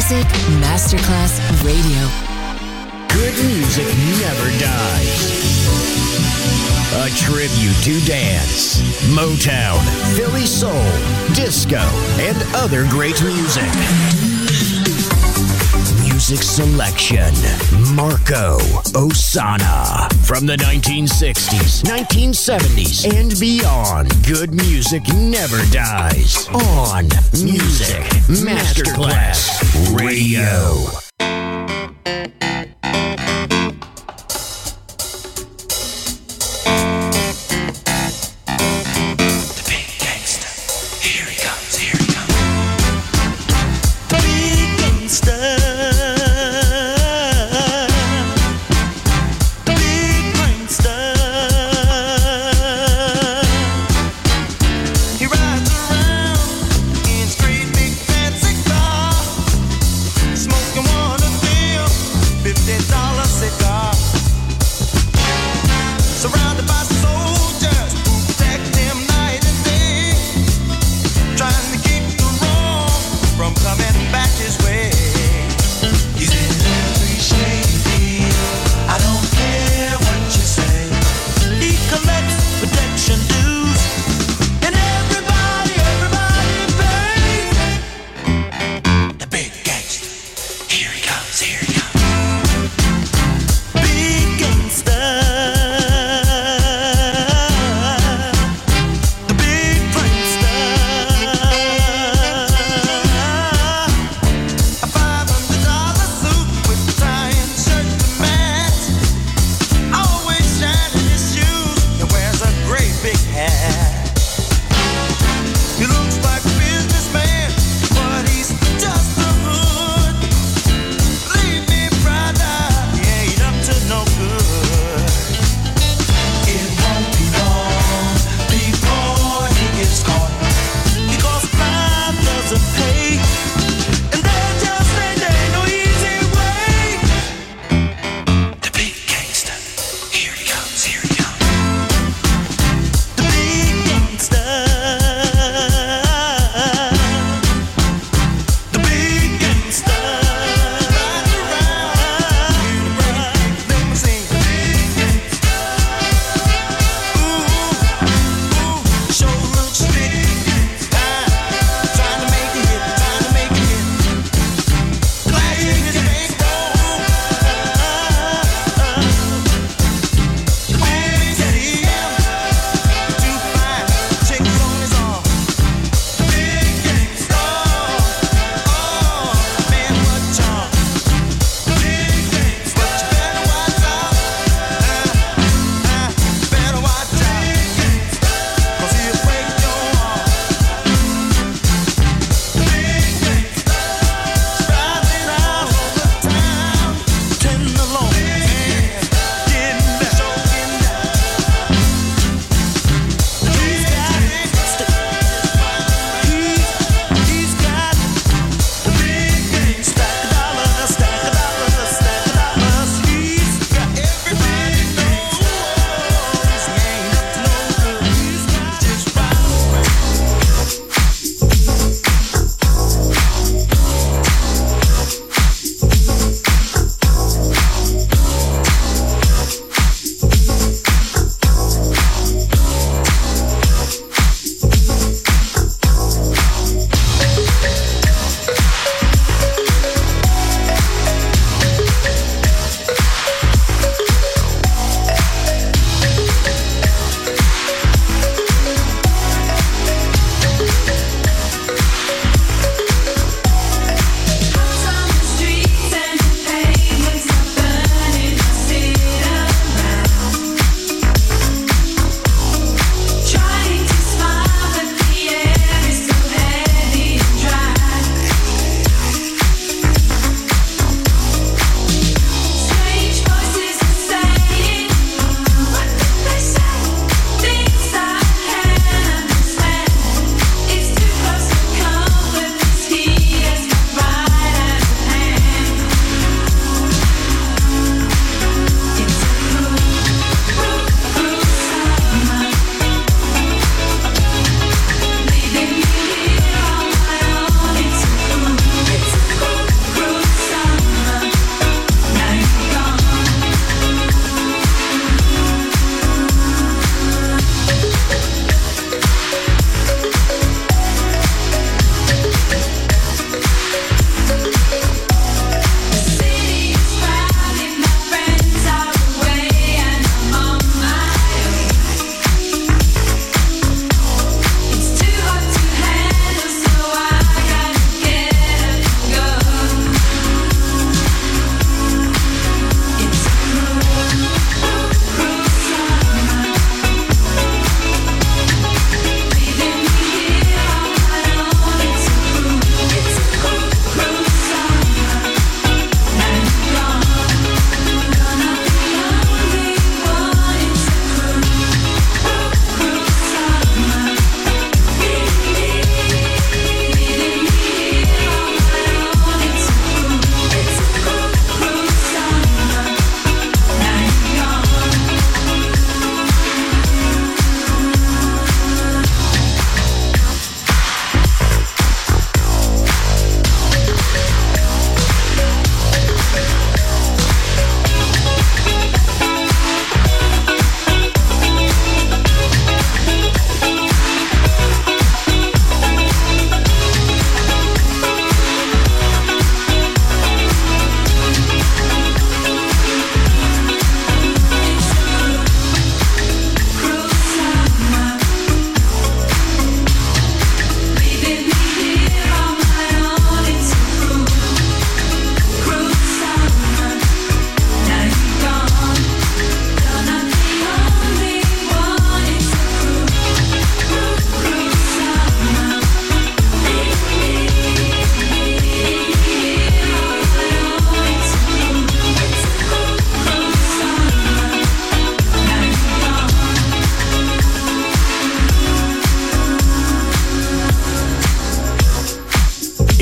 Music Masterclass Radio. Good music never dies. A tribute to dance, Motown, Philly soul, disco, and other great music. Music selection, Marco Ossanna. From the 1960s, 1970s, and beyond, good music never dies. On Music Masterclass Radio. Smoking one of them.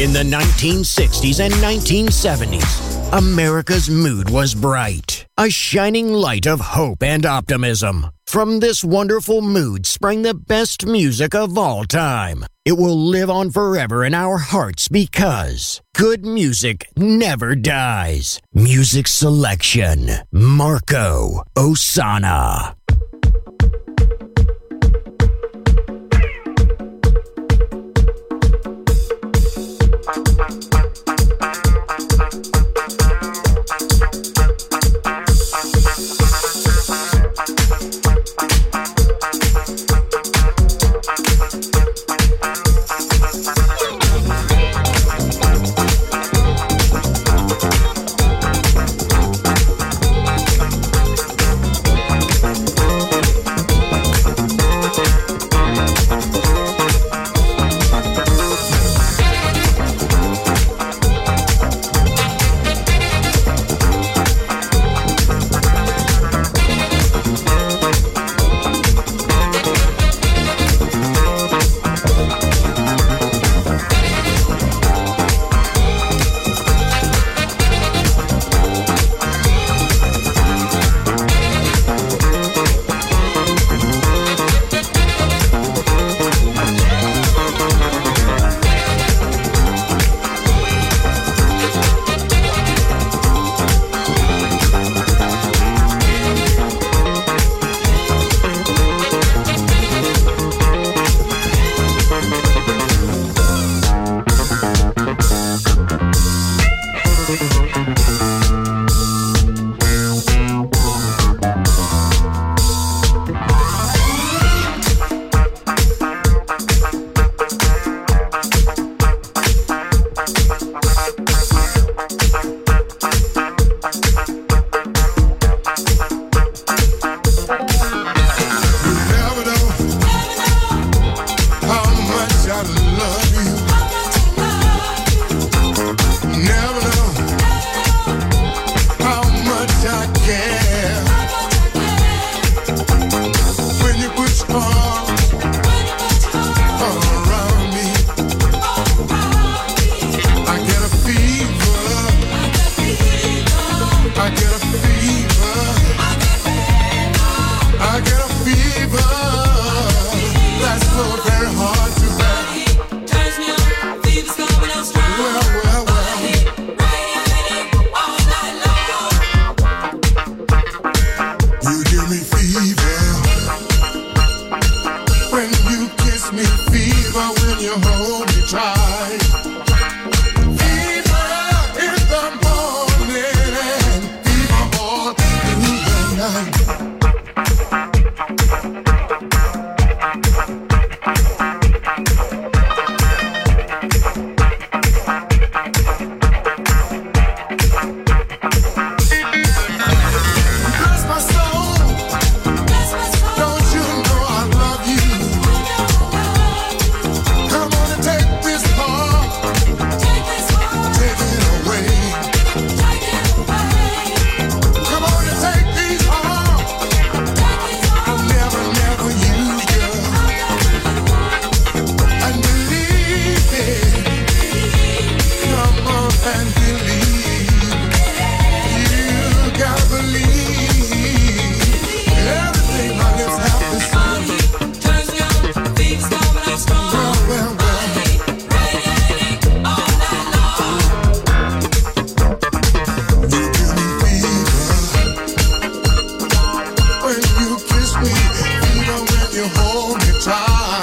In the 1960s and 1970s, America's mood was bright, a shining light of hope and optimism. From this wonderful mood sprang the best music of all time. It will live on forever in our hearts because good music never dies. Music selection, Marco Ossanna.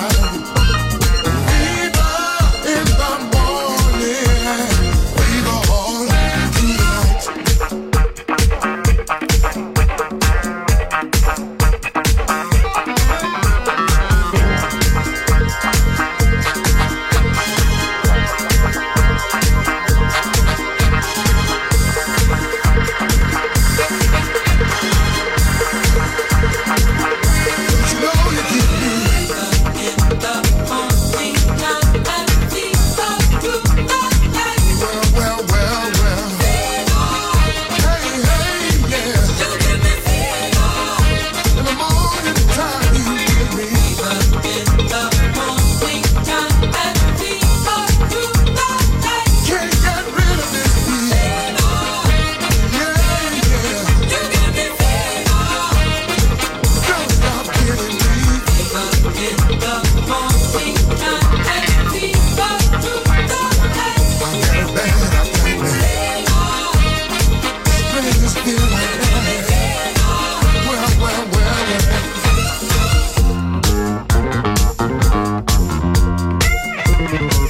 Fever in the morning, fever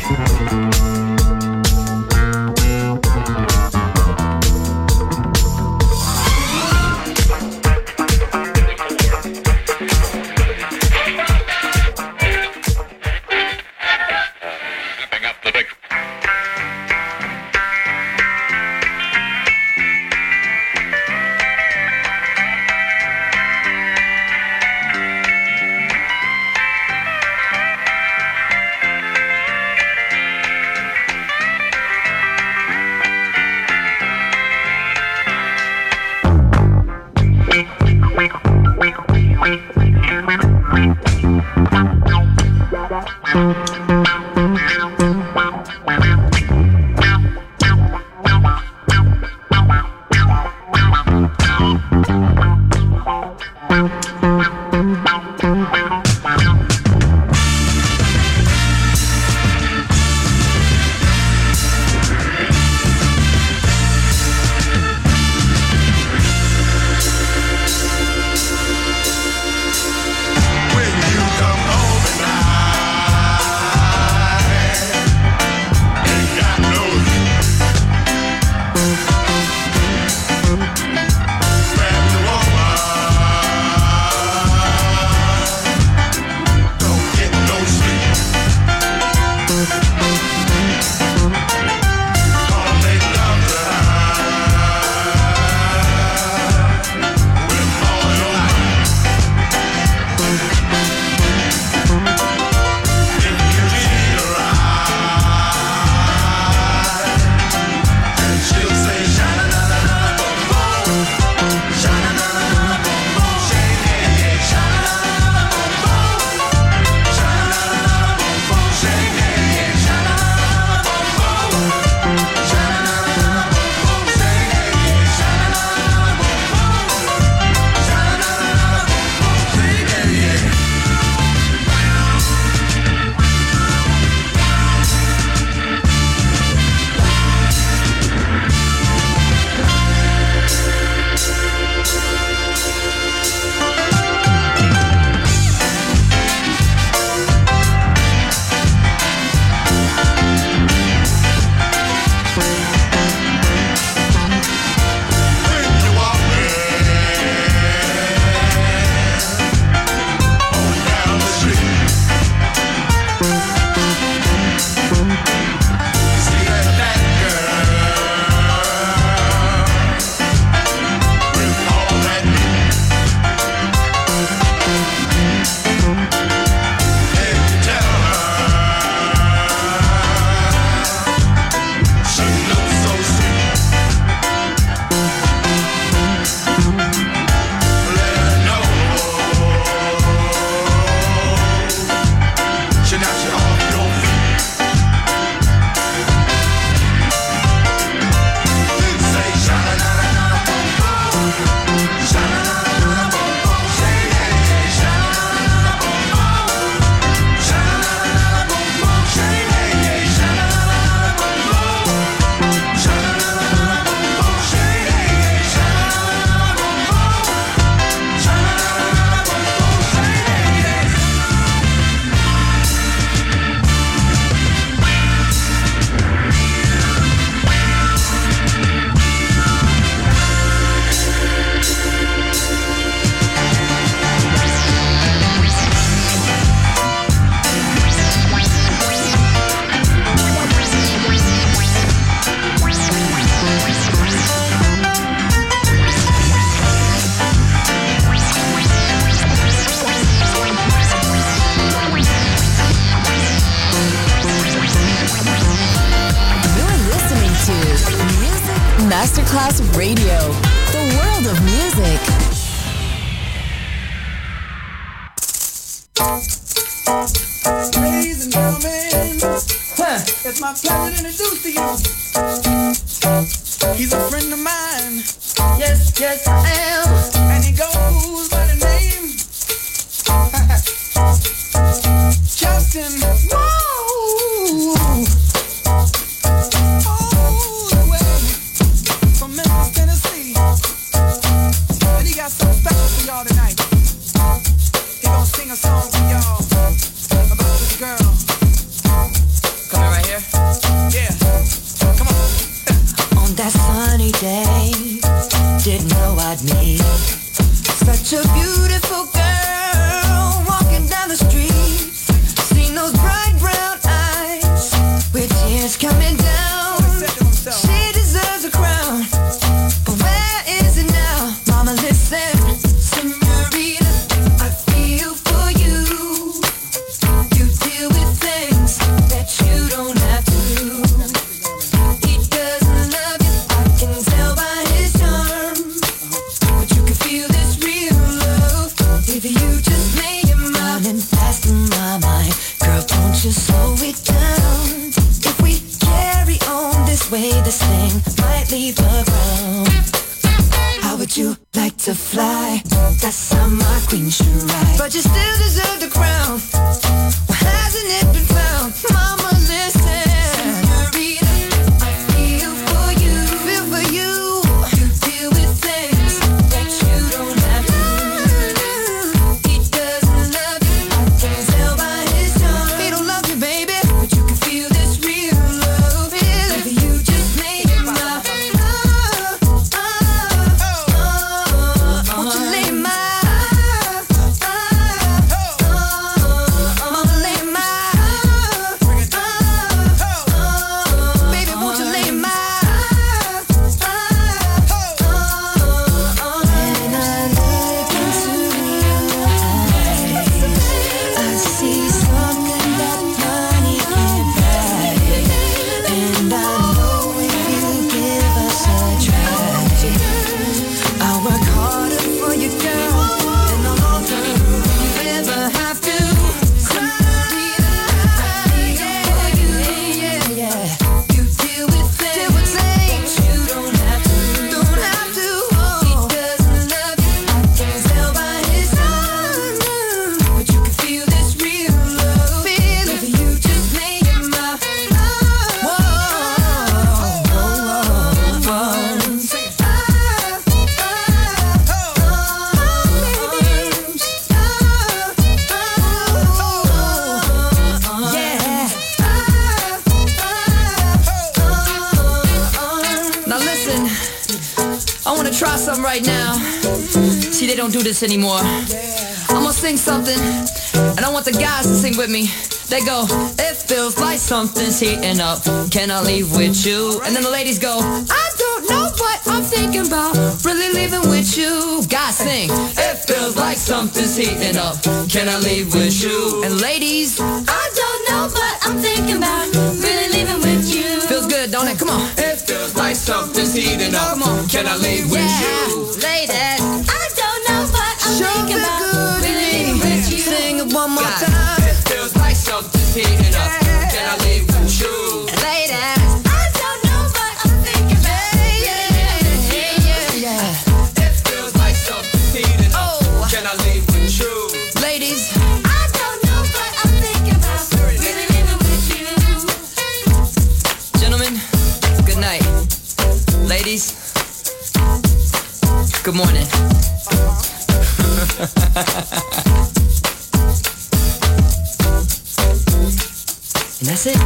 Masterclass Radio, the world of music. Ladies and gentlemen, it's my pleasure to introduce to you. He's a friend of mine. Yes, yes, I am. And he goes by the name Justin. Whoa! All the way from Memphis, Tennessee. And he got something special for y'all tonight. He gonna sing a song for y'all about this girl. Coming right here. day. Didn't know I'd meet such a beautiful girl walking down the street. Seen those bright brown eyes with tears coming down. She deserves a crown, but where is it now? Mama, listen, señorita, I feel for you. You deal with things that you don't have to. He doesn't love you, I can tell by his charm. But you can feel this real love if you just make him up. Running fast in my mind, girl, don't you slow it down. If we carry on this way, this thing might leave the ground. How would you like to fly? That's how my queen should ride. But you still deserve the crown. Why hasn't it been found? Mama, listen. Señorita, I feel for you. Feel for you. You deal with things that you don't have to. He doesn't love you, I can tell by his charm. He don't love you, baby, but you can feel this real love. If you just make him up. Won't you lay my mama, lay my baby, won't you lay my when I look into your eyes, I see something that money can't buy. And I know if you give us a try, I'll work harder for you, girl, in the long term. You never have to cry. Yeah. You deal with things you don't have to. He doesn't love you, I can tell by his charm. But you can feel this real love if you just make him up. Now listen, I wanna try something right now. See, they don't do this anymore. I'm gonna sing something, and I want the guys to sing with me. They go, it feels like something's heating up. Can I leave with you? And then the ladies go, I don't know what I'm thinking about. Really leaving with you. Guys sing, it feels like something's heating up. Can I leave with you? And ladies, I don't know what I'm thinking about. Really leaving with you. Feels good, don't it? Come on. It feels like something's heating up. Come on. Can I leave with you? Ladies, I don't know what I'm thinking about. Really leaving with you. Sing it one more time. Feels like something's heating up. Can I leave with you? Ladies, I don't know what I'm thinking about. Yeah. It feels like something's heating up. Can I leave with you? Ladies, I don't know what I'm thinking about. Really living with you. Gentlemen, good night. Ladies, good morning. And that's it.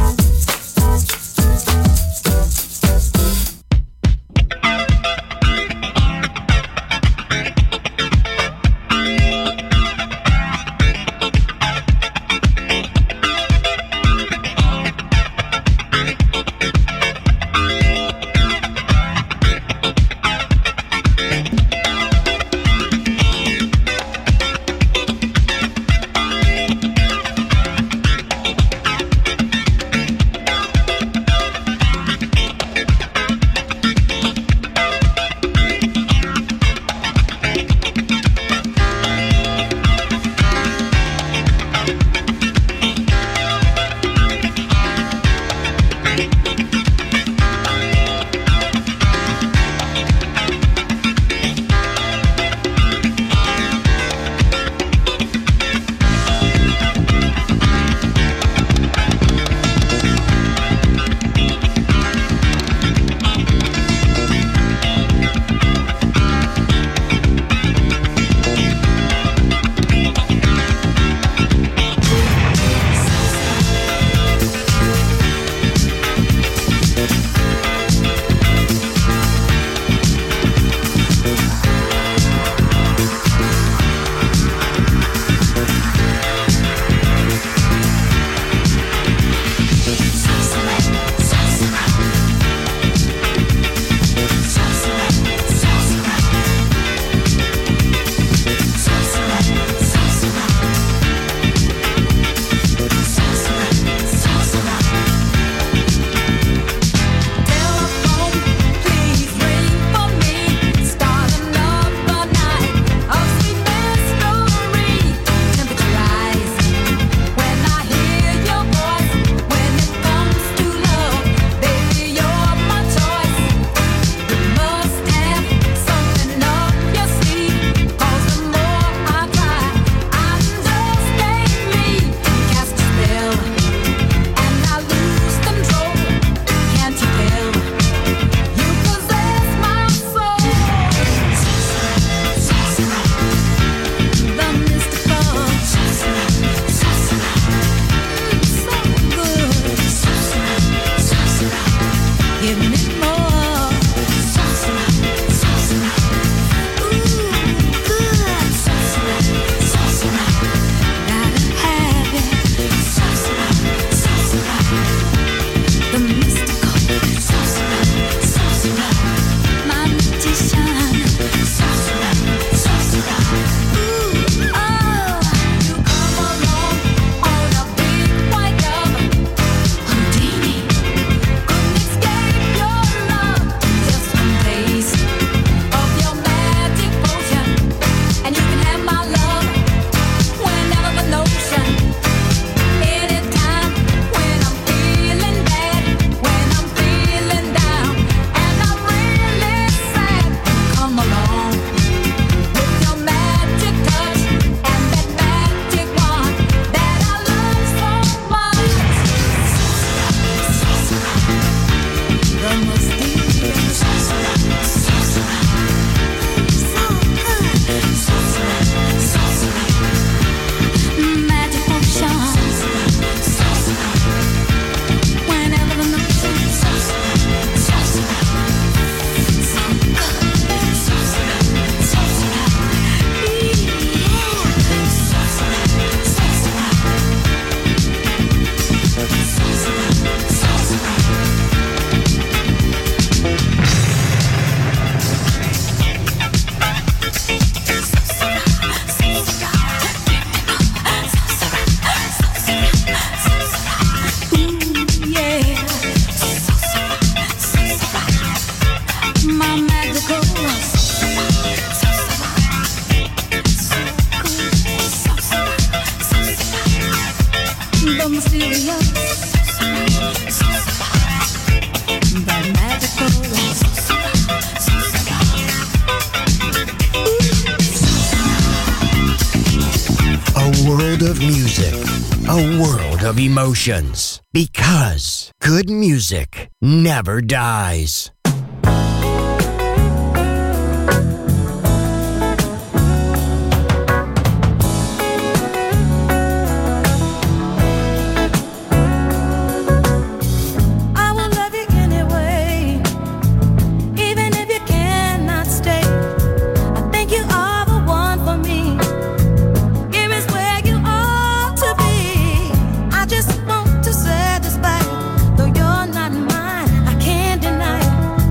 world of emotions. Because good music never dies. Just want to satisfy, though you're not mine, I can't deny it.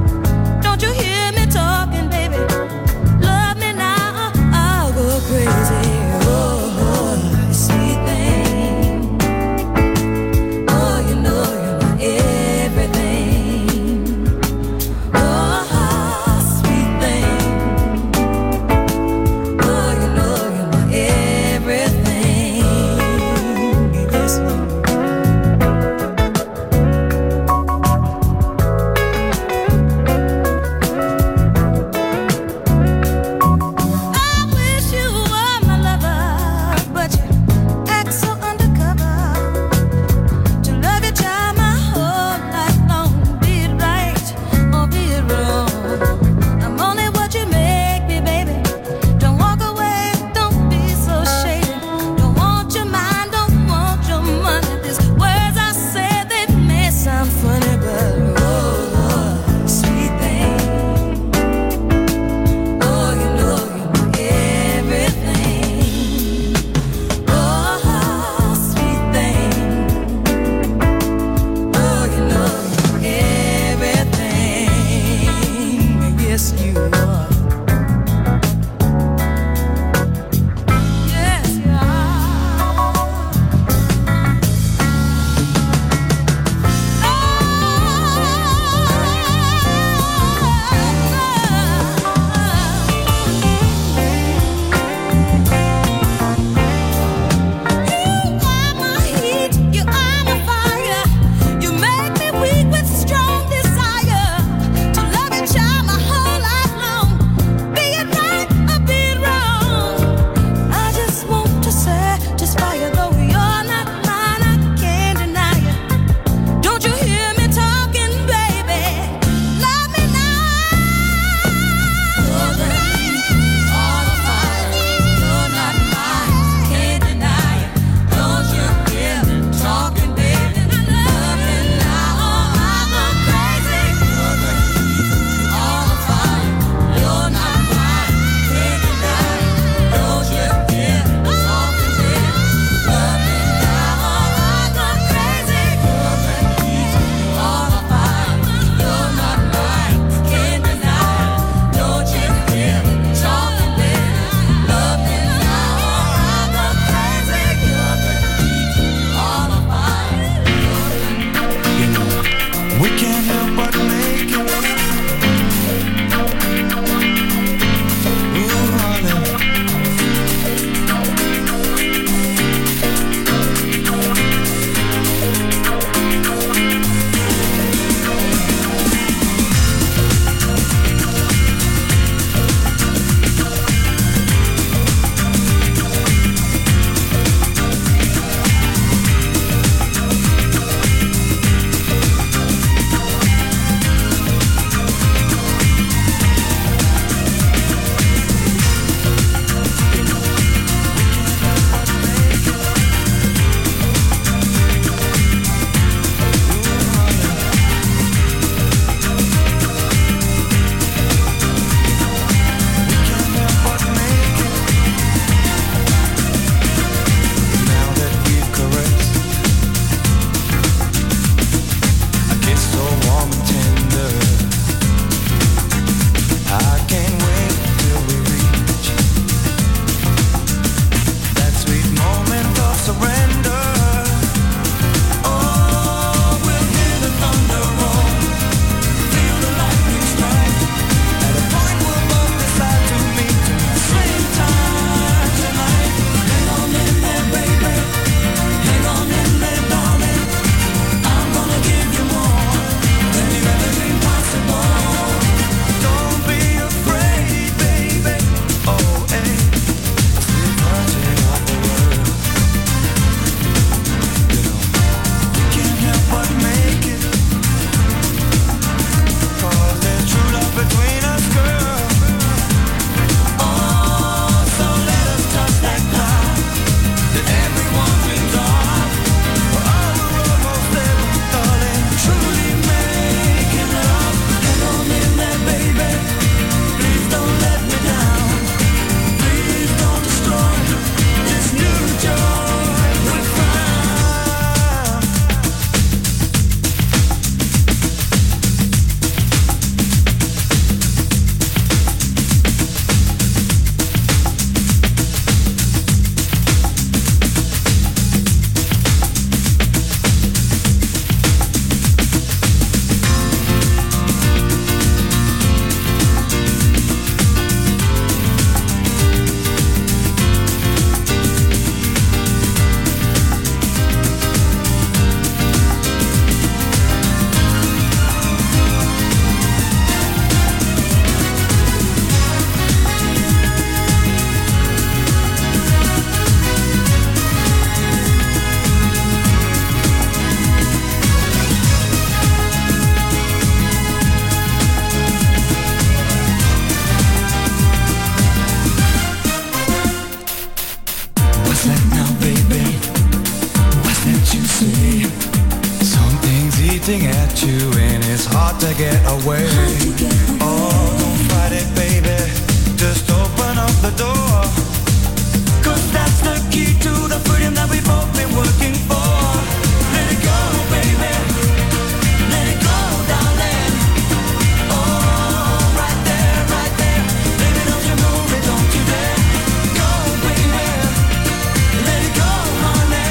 you and it's hard to get away. Oh, don't fight it, baby. Just open up the door. 'Cause that's the key to the freedom that we've both been working for. Let it go, baby. Let it go, darling. Oh, right there, right there. Baby, don't you move it, don't you dare. Go, baby. Let it go, honey.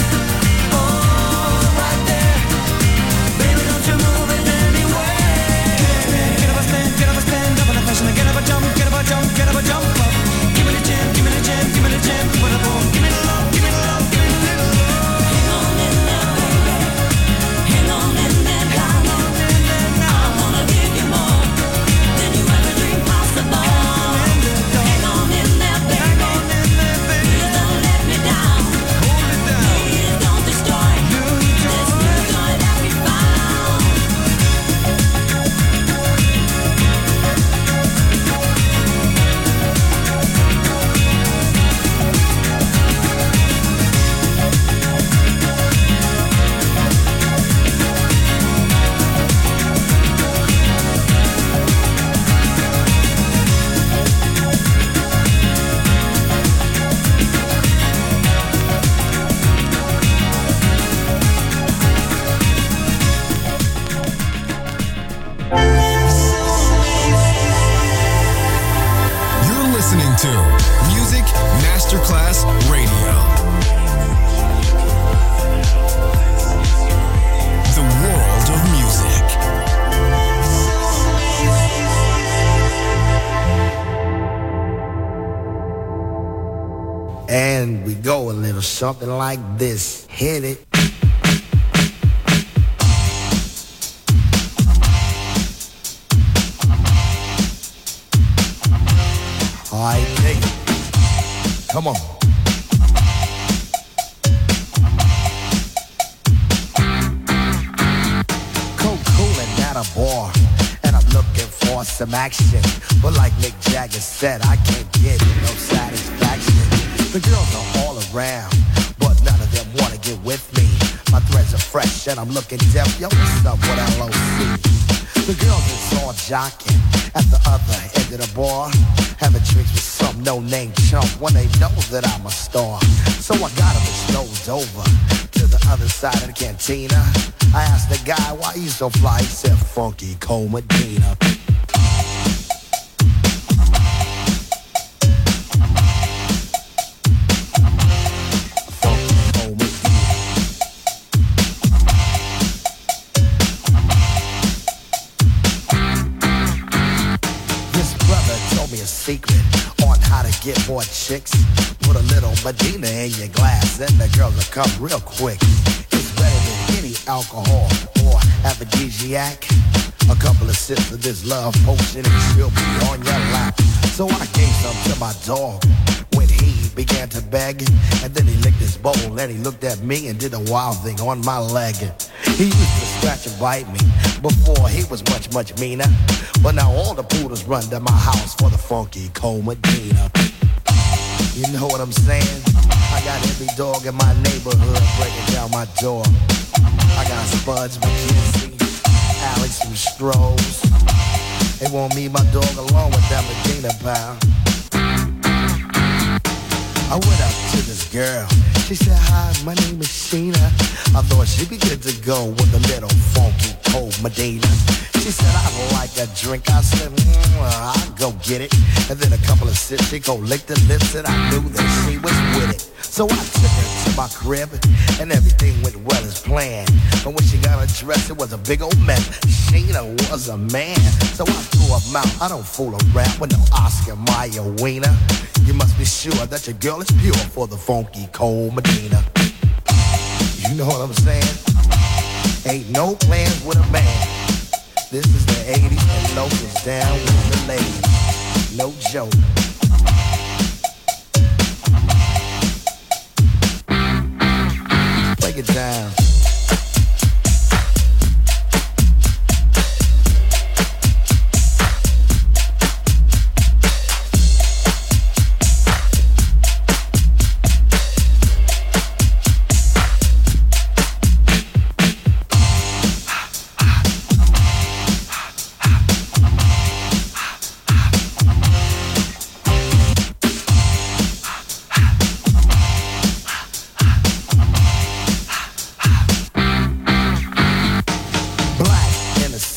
Oh, right there. Baby, don't you move it anyway. Get up a stand, get up a stand up in the fashion. Get up a jump, get up a jump, get up a jump up. Give me the jam, give me the jam, give me the jam. Give me the boom, give me the love, give me the love, give me the little love. Hang on in there, baby. Hang on in there, darling. I'm gonna give you more than you ever dreamed possible. Hang on in there, baby. Please don't let me down. Please don't destroy this new joy that we found. You're listening to Music Masterclass Radio. The world of music. And we go a little something like this. Hit it. All right, dig it. Come on. Cool-cooling at a bar, and I'm looking for some action. But like Mick Jagger said, I can't get no satisfaction. The girls are all around, but none of them wanna get with me. My threads are fresh, and I'm looking deaf. Yo, what's up with LOC? The girls is all jocking at the other end of the bar, having drinks with some no-name chump when they know that I'm a star. So I got them strolled over to the other side of the cantina. I asked the guy, why you so fly? He said, Funky Cole Medina. Funky Cole Medina. This brother told me a secret on how to get more chicks. Put a little Medina in your glass and the girls will come real quick. It's better than any alcohol or aphrodisiac. A couple of sips of this love potion and she'll be on your lap. So I gave some to my dog when he began to beg. And then he licked his bowl and he looked at me and did a wild thing on my leg. He used to scratch and bite me before he was much, much meaner. But now all the poodles run to my house for the Funky Cole Medina. You know what I'm saying? I got every dog in my neighborhood breaking down my door. I got Spuds, McKenzie, Alex, and Strohs. They want me, my dog, along with that Medina pal. I went up to this girl. She said, hi, my name is Sheena. I thought she'd be good to go with a little Funky Cole Medina. She said, I'd like a drink. I said, I'll go get it. And then a couple of sips, she go lick the lips, and I knew that she was with it. So I took her to my crib, and everything went well as planned. But when she got her dress, it was a big old mess. Sheena was a man, so I threw her mouth. I don't fool around with no Oscar Mayer wiener. You must be sure that your girl is pure for the Funky Cole Medina. You know what I'm saying? Ain't no plans with a man. This is the 80s and locals down with the ladies. No joke. Break it down.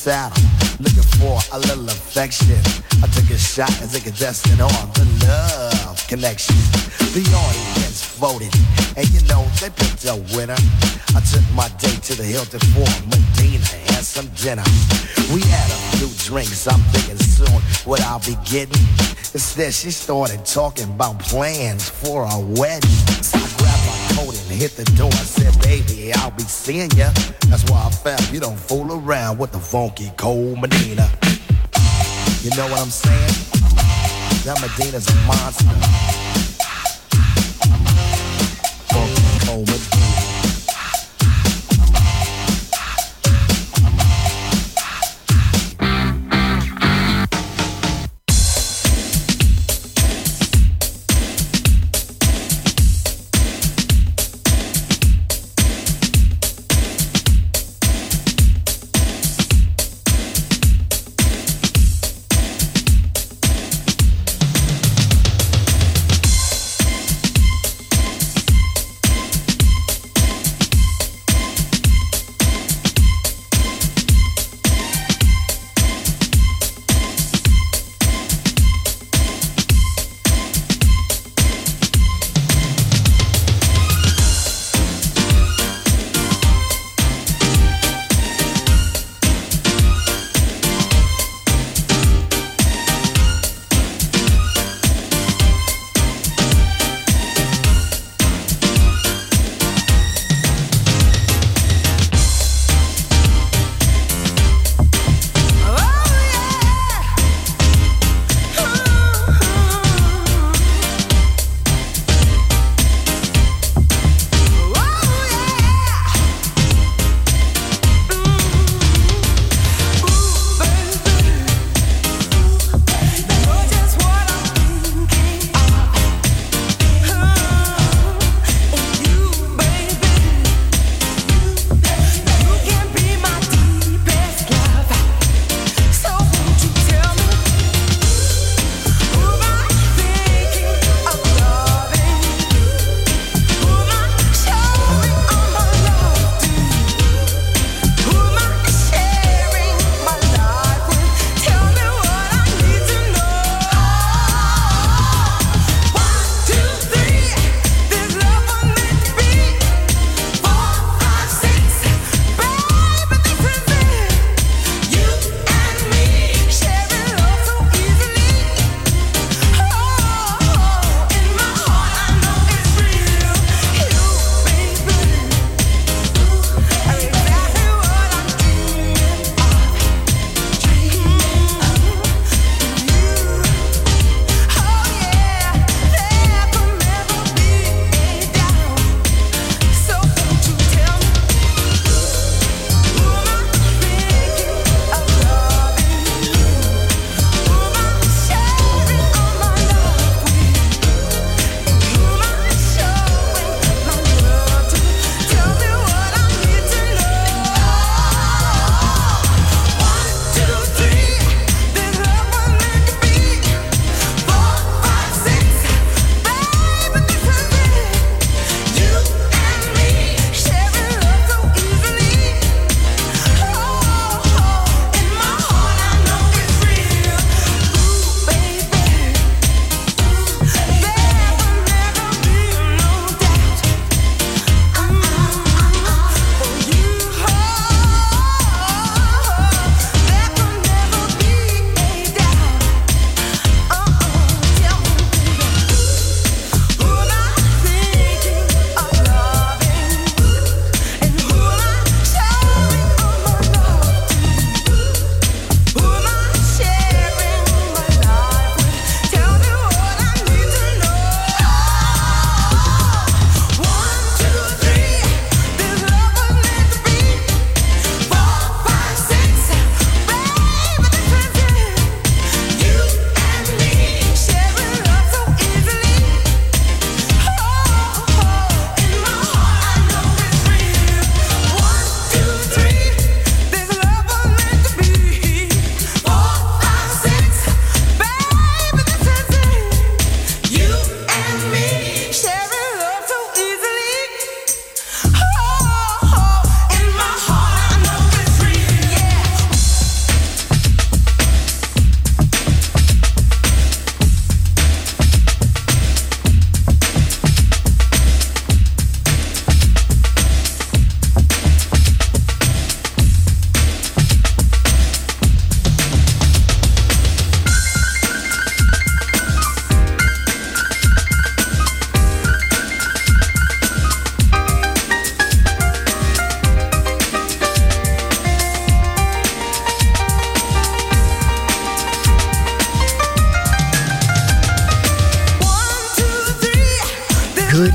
saddle, looking for a little affection. I took a shot as a contestant on the Love Connection. The audience voted, and you know they picked a winner. I took my date to the Hilton for Medina and some dinner. We had a few drinks, I'm thinking soon what I'll be getting. Instead, she started talking about plans for a wedding. So I grabbed my coat and hit the door. I said, baby, I'll be seeing ya. That's why I found you don't fool around with the funky cold Medina. You know what I'm saying? That Medina's a monster. Funky cold Medina.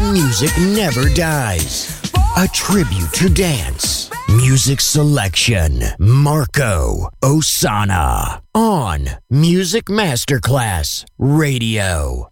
music never dies. A tribute to dance. Music selection. Marco Ossanna. On Music Masterclass Radio.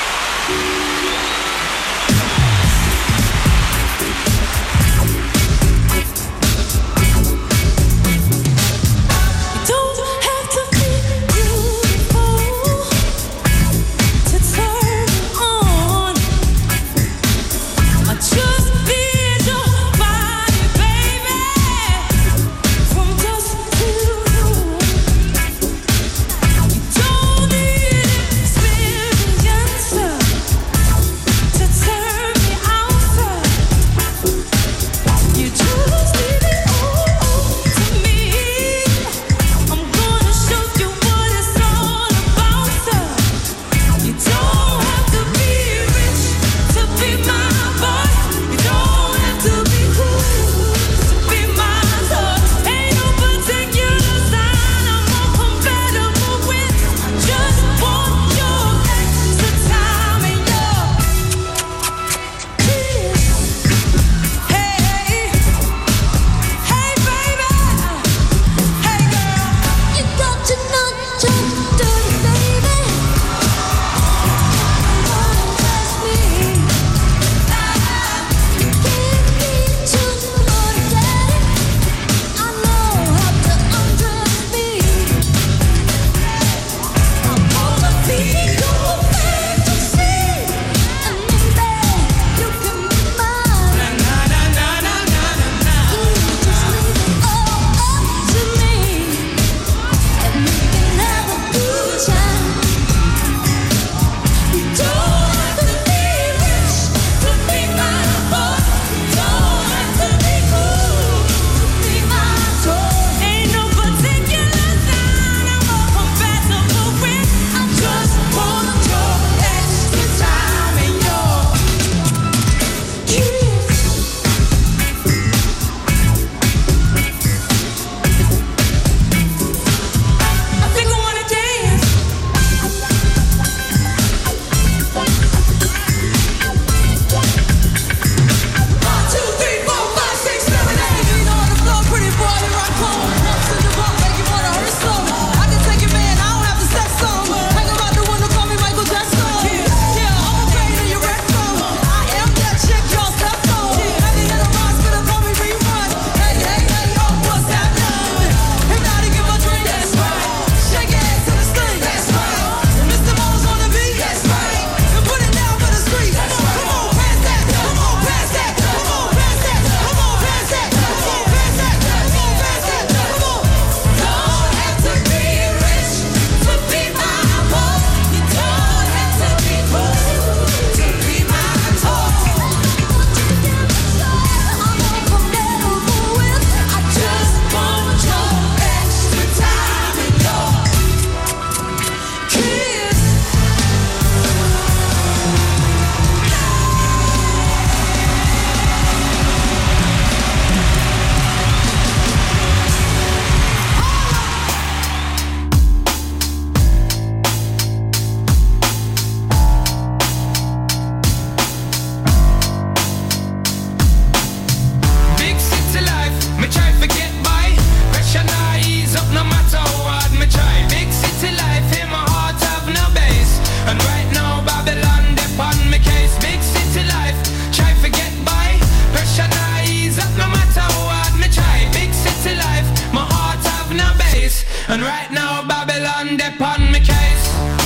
And right now Babylon depon me case.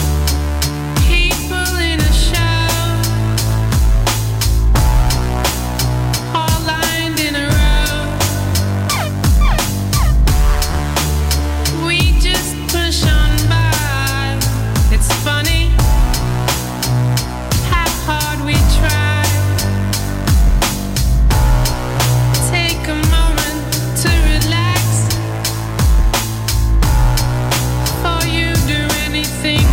People in a show, all lined in a row. We just push on by. It's funny how hard we try. Take a moment to relax. You do anything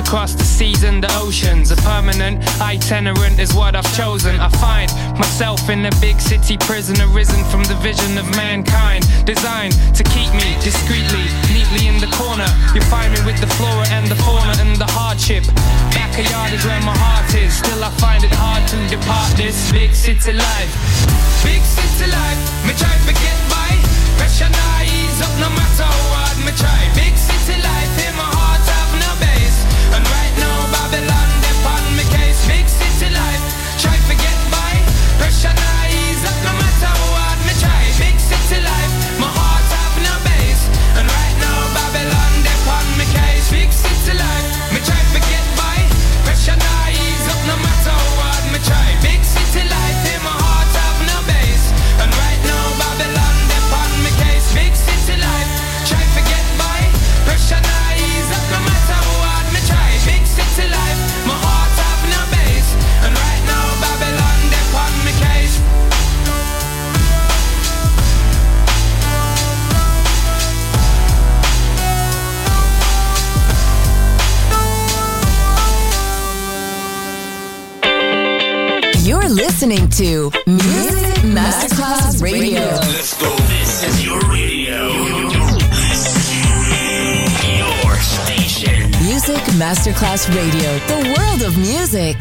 across the seas and the oceans. A permanent itinerant is what I've chosen. I find myself in a big city prison, arisen from the vision of mankind, designed to keep me discreetly, neatly in the corner. You find me with the flora and the fauna and the hardship. Backyard is where my heart is. Still I find it hard to depart this big city life. Big city life, me try to get by. Pressure not ease up no matter what me try. Big city life, in my heart have no base. And right now Babylon upon me case. Big city life, try to get by. Pressure not ease up no matter what me try. Big city life, my heart have no base. And right now Babylon upon me case. Big city life, me try to get by. Pressure not ease up no matter what me try. Big city life, in my heart have no base. And right now Babylon upon me case. Big city life, try to get by. Pressure not ease up no matter what me try. Big city life, my heart have no base. And right now Babylon upon me case. You're listening to Music Masterclass Radio. Let's go. This is your radio. Your station. Music Masterclass Radio, the world of music.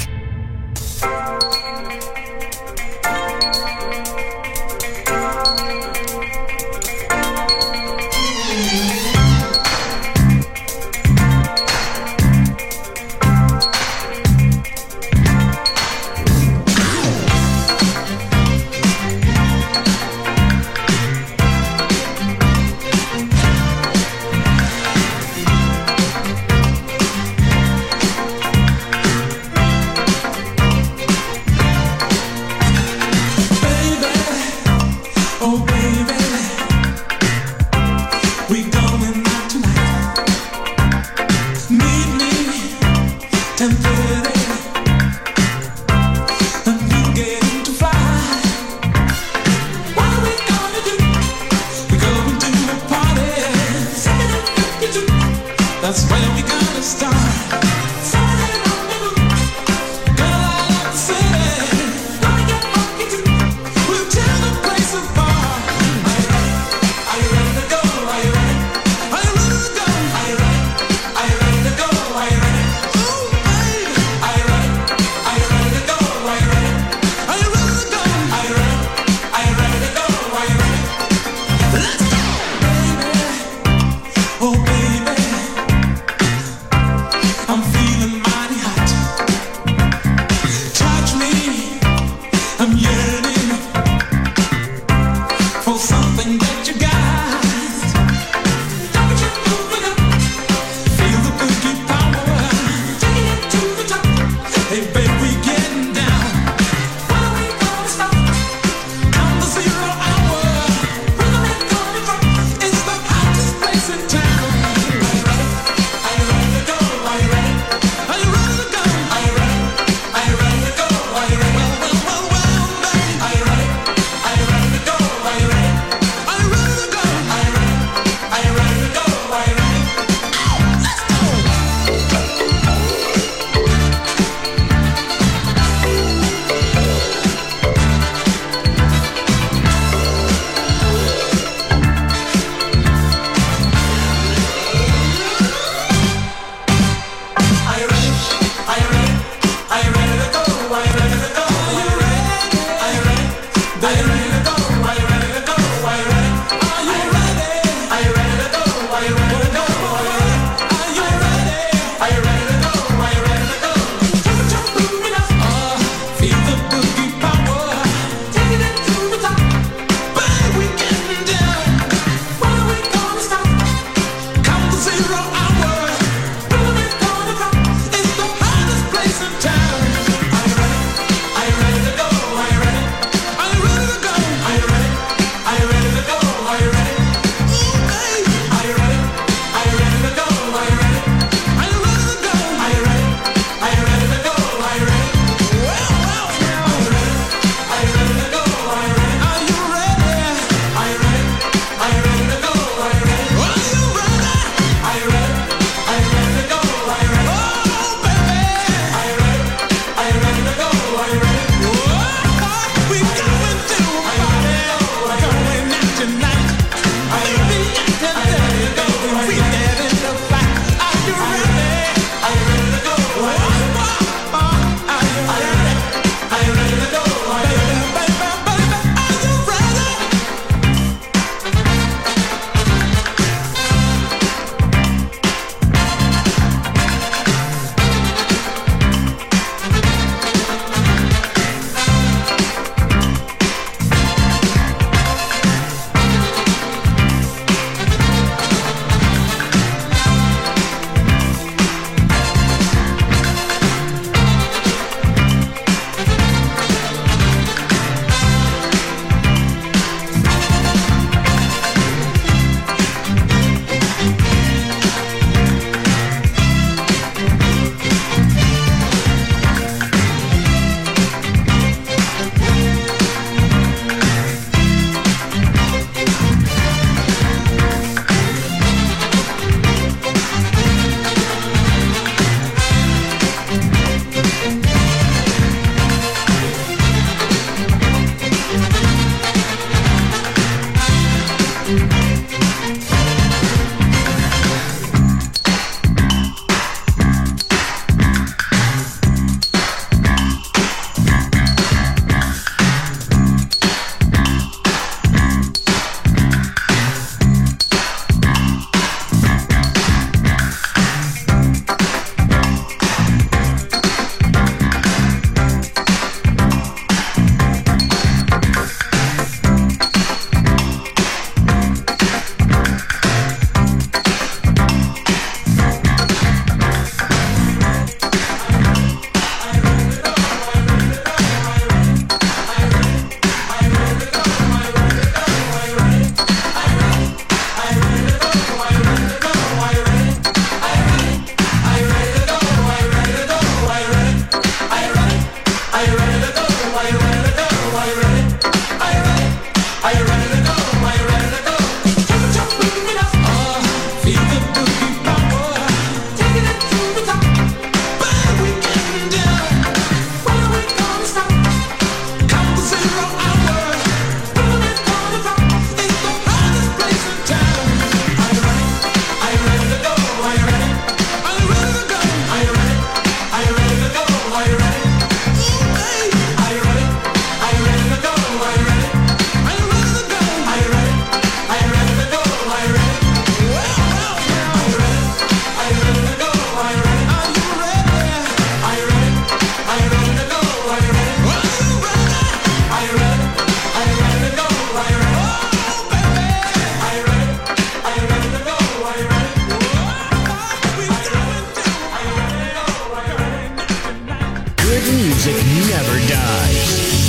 music never dies.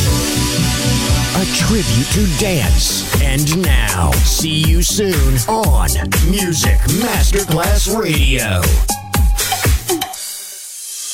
A tribute to dance. And now, see you soon on Music Masterclass Radio.